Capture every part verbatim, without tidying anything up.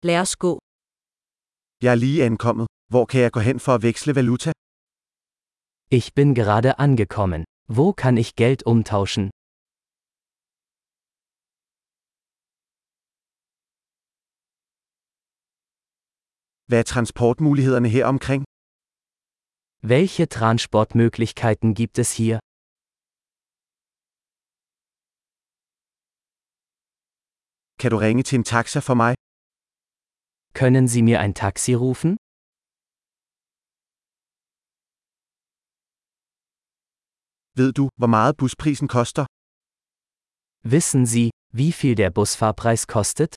Lad os gå. Jeg er lige ankommet. Hvor kan jeg gå hen for at veksle valuta? Ich bin gerade angekommen. Wo kann ich Geld umtauschen? Hvad er transportmulighederne her omkring? Welche Transportmöglichkeiten gibt es hier? Kan du ringe til en taxa for mig? Können Sie mir ein Taxi rufen? Ved du, hvor meget busprisen koster? Wissen Sie, wie viel der Busfahrpreis kostet?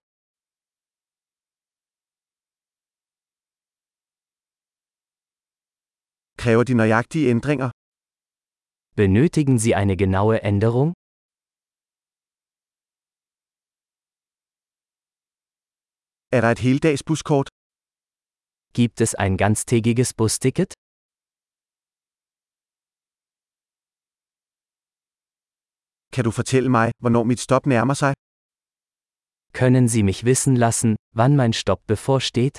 Kræver de nøjagtige ændringer? Benötigen Sie eine genaue Änderung? Er der et heldagsbuskort? Gibt es ein ganztägiges Busticket? Kan du fortælle mig, hvornår mit stop nærmer sig? Können Sie mich wissen lassen, wann mein Stopp bevorsteht?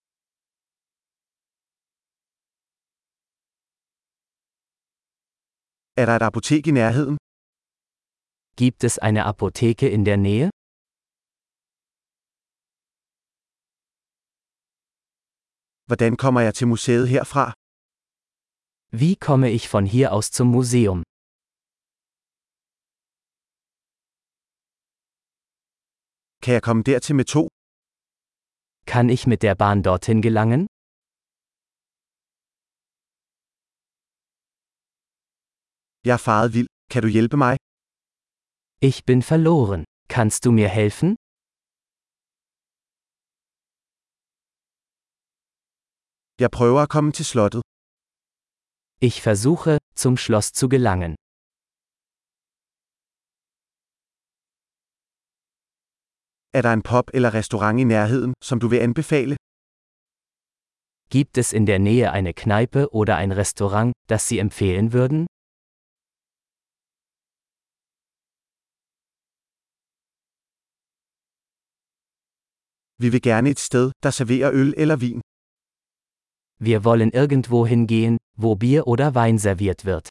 Er der et apotek i nærheden? Gibt es eine Apotheke in der Nähe? Hvordan kommer jeg til museet herfra? Wie komme ich von hier aus zum Museum? Kan jeg komme dertil med tog? Kann ich mit der Bahn dorthin gelangen? Jeg er faret vild. Kan du hjælpe mig? Ich bin verloren. Kannst du mir helfen? Jeg prøver at komme til slottet. Ich versuche, zum Schloss zu gelangen. Er der en pub eller restaurant i nærheden, som du vil anbefale? Gibt es in der Nähe eine Kneipe oder ein Restaurant, das Sie empfehlen würden? Vi vil gerne et sted, der serverer øl eller vin. Wir wollen irgendwo hingehen, wo Bier oder Wein serviert wird.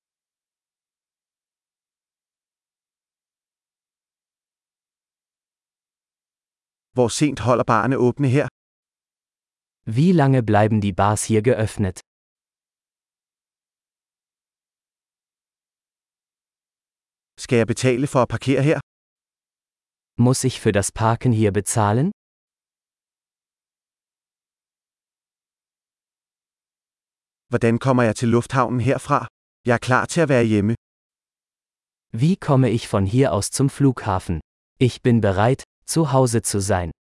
Hvor sent holder barerne åbne her? Wie lange bleiben die Bars hier geöffnet? Skal jeg betale for at parkere her? Muss ich für das Parken hier bezahlen? Hvordan kommer jeg til lufthavnen herfra? Jeg er klar til at være hjemme. Wie komme ich von hier aus zum Flughafen? Ich bin bereit, zu Hause zu sein.